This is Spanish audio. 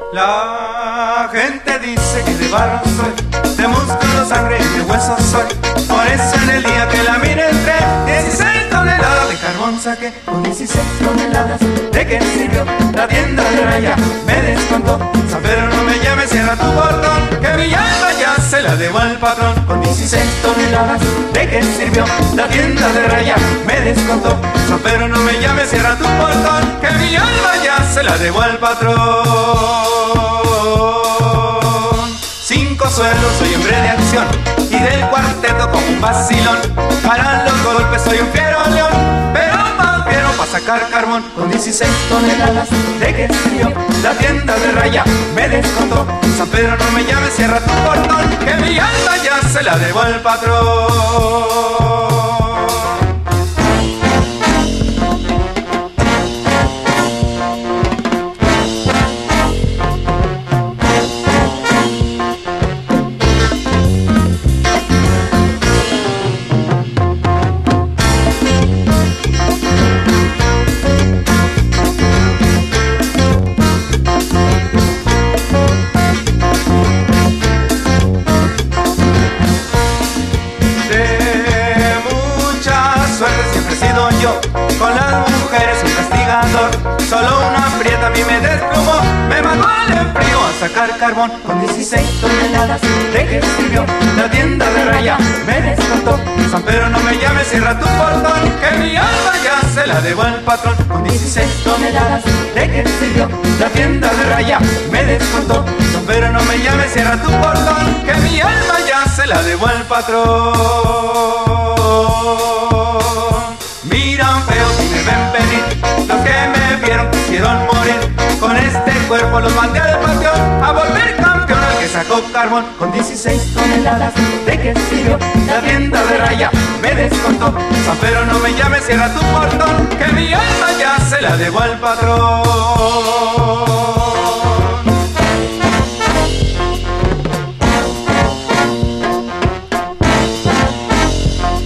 La gente dice que de barro soy, de músculo, sangre y de hueso soy. Por eso en el día que la mire entré, 16 toneladas de carbón saqué. Con 16 toneladas, ¿de qué sirvió? La tienda de raya me descontó. San Pedro, no me llames, cierra tu portón, que mi alma ya se la debo al patrón. Con 16 toneladas, ¿de qué sirvió? La tienda de raya me descontó. San Pedro, no me llames, cierra tu portón, que mi alma ya se la debo al patrón. 5 suelos, soy hombre de acción, y del cuarteto como un vacilón. Para los golpes soy un fiero león, pero más fiero para sacar carbón. Con 16 toneladas, ¿de qué sirvió? La tienda de raya me descontó. San Pedro, no me llames, cierra tu portón, que mi alma ya se la debo al patrón. Con las mujeres un castigador, solo una prieta a mí me desplumó, me mandó al enfrío a sacar carbón. Con 16 toneladas, ¿de qué sirvió? La tienda de raya me descontó. San Pedro, no me llames, cierra tu portón, que mi alma ya se la debo al patrón. Con 16 toneladas, ¿de qué sirvió? La tienda de raya me descontó. San Pedro, no me llames, cierra tu portón, que mi alma ya se la debo al patrón. Miran feo si me ven venir, los que me vieron quisieron morir. Con este cuerpo los mandé al panteón, a volver campeón al que sacó carbón. Con 16 toneladas, ¿de qué sirvió? La tienda de raya me descontó. San Pedro, no me llames, cierra tu portón, que mi alma ya se la debo al patrón.